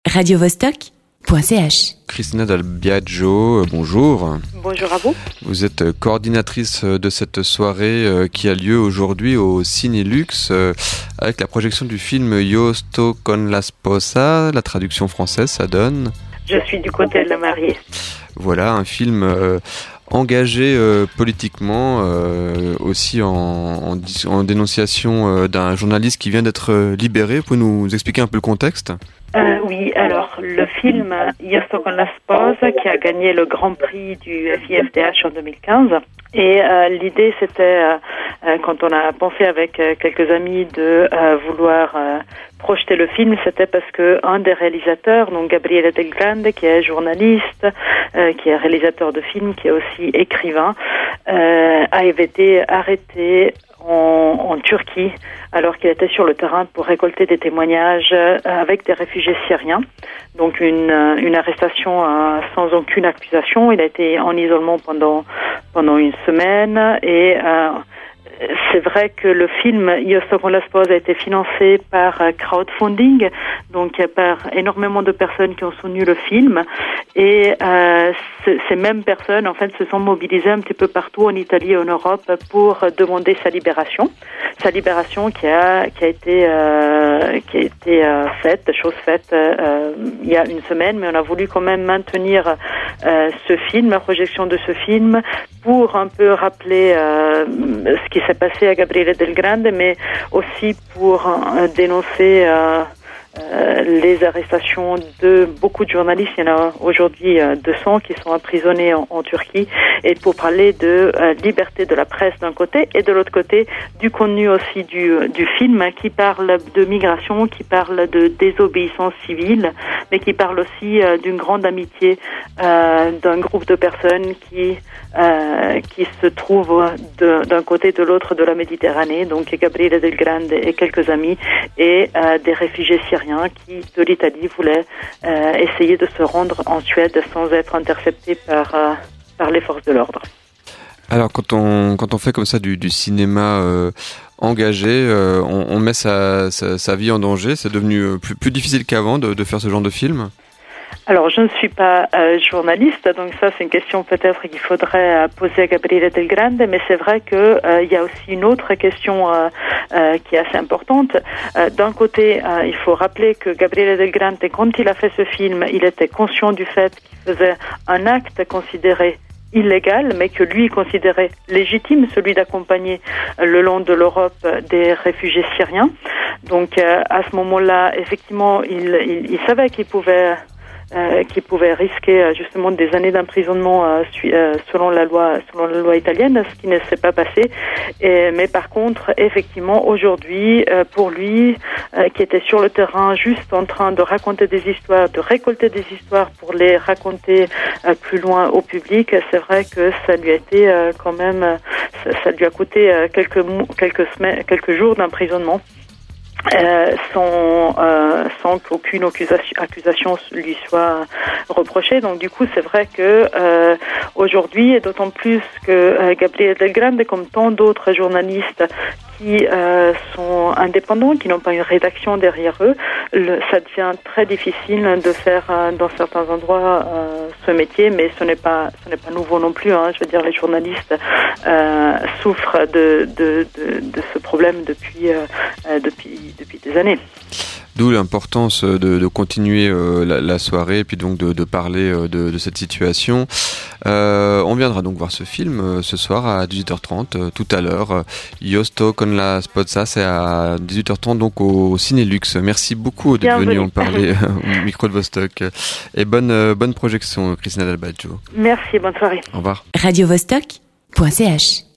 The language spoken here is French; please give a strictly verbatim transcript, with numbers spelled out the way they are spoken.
radio vostok point c h. Cristina Dal Biagio, bonjour. Bonjour à vous. Vous êtes coordinatrice de cette soirée qui a lieu aujourd'hui au Cinélux avec la projection du film Io sto con la sposa. La traduction française, ça donne... Je suis du côté de la mariée. Voilà, un film euh, engagé euh, politiquement, euh, aussi en, en, en dénonciation euh, d'un journaliste qui vient d'être euh, libéré. Vous pouvez nous expliquer un peu le contexte ? Euh, oui, alors le film Io sto con la sposa qui a gagné le Grand Prix du F I F D H en deux mille quinze. Et euh, l'idée c'était, euh, euh, quand on a pensé avec euh, quelques amis de euh, vouloir euh, projeter le film, c'était parce que un des réalisateurs, donc Gabriele Del Grande, qui est journaliste, euh, qui est réalisateur de films, qui est aussi écrivain, euh, a été arrêté en, en Turquie alors qu'il était sur le terrain pour récolter des témoignages euh, avec des réfugiés syriens. Donc une, une arrestation euh, sans aucune accusation. Il a été en isolement pendant pendant une semaine et euh, c'est vrai que le film Io sto con la sposa a été financé par crowdfunding, donc par énormément de personnes qui ont soutenu le film. Et euh, ces mêmes personnes, en fait, se sont mobilisées un petit peu partout en Italie et en Europe pour demander sa libération. Sa libération qui a qui a été euh, qui a été euh, faite, chose faite euh, il y a une semaine, mais on a voulu quand même maintenir euh, ce film, la projection de ce film, pour un peu rappeler euh, ce qui s'est passé à Gabriele Del Grande, mais aussi pour euh, dénoncer euh, euh, les arrestations de beaucoup de journalistes. Il y en a aujourd'hui euh, deux cents qui sont emprisonnés en, en Turquie, et pour parler de euh, liberté de la presse d'un côté et de l'autre côté du contenu aussi du, du film qui parle de migration, qui parle de désobéissance civile, mais qui parle aussi euh, d'une grande amitié euh, d'un groupe de personnes qui euh, qui se trouvent de, d'un côté et de l'autre de la Méditerranée, donc Gabriele Del Grande et quelques amis, et euh, des réfugiés syriens qui, de l'Italie, voulaient euh, essayer de se rendre en Suède sans être interceptés par, euh, par les forces de l'ordre. Alors quand on quand on fait comme ça du, du cinéma euh, engagé, euh, on, on met sa, sa, sa vie en danger. C'est devenu plus, plus difficile qu'avant de, de faire ce genre de film ? Alors, je ne suis pas euh, journaliste, donc ça, c'est une question peut-être qu'il faudrait euh, poser à Gabriele Del Grande, mais c'est vrai que euh, il y a aussi une autre question euh, euh, qui est assez importante. Euh, d'un côté, euh, il faut rappeler que Gabriele Del Grande, quand il a fait ce film, il était conscient du fait qu'il faisait un acte considéré illégal, mais que lui considérait légitime, celui d'accompagner euh, le long de l'Europe euh, des réfugiés syriens. Donc, euh, à ce moment-là, effectivement, il, il, il savait qu'il pouvait Euh, qui pouvait risquer euh, justement des années d'emprisonnement euh, su- euh, selon la loi selon la loi italienne, ce qui ne s'est pas passé. Et, mais par contre, effectivement, aujourd'hui, euh, pour lui, euh, qui était sur le terrain, juste en train de raconter des histoires, de récolter des histoires pour les raconter euh, plus loin au public, c'est vrai que ça lui a été euh, quand même, ça, ça lui a coûté euh, quelques quelques semaines, quelques jours d'emprisonnement. Euh, sans, euh, sans qu'aucune accusation, accusation lui soit reprochée. Donc du coup, c'est vrai que euh, aujourd'hui, et d'autant plus que euh, Gabriele Del Grande, comme tant d'autres journalistes qui euh, sont indépendants, qui n'ont pas une rédaction derrière eux, le, ça devient très difficile de faire euh, dans certains endroits euh, ce métier, mais ce n'est pas ce n'est pas nouveau non plus. Hein. Je veux dire, les journalistes euh, souffrent de, de de de ce problème depuis euh, depuis depuis des années. D'où l'importance de, de continuer euh, la, la soirée et puis donc de, de parler euh, de, de cette situation. Euh, on viendra donc voir ce film euh, ce soir à dix-huit heures trente, euh, tout à l'heure. Io sto con la sposa, c'est à dix-huit heures trente donc au Cinélux. Merci beaucoup d'être venu en parler au micro de Vostok. Et bonne, euh, bonne projection, Cristina Dal Biagio. Merci, bonne soirée. Au revoir. radio vostok point c h